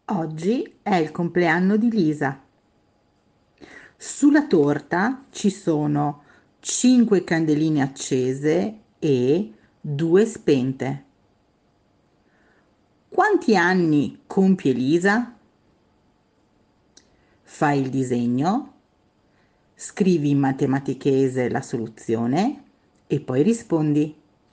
Oggi è il compleanno di Lisa. Sulla torta ci sono 5 candeline accese e 2 spente. Quanti anni compie Lisa? Fai il disegno, scrivi in matematichese la soluzione e poi rispondi.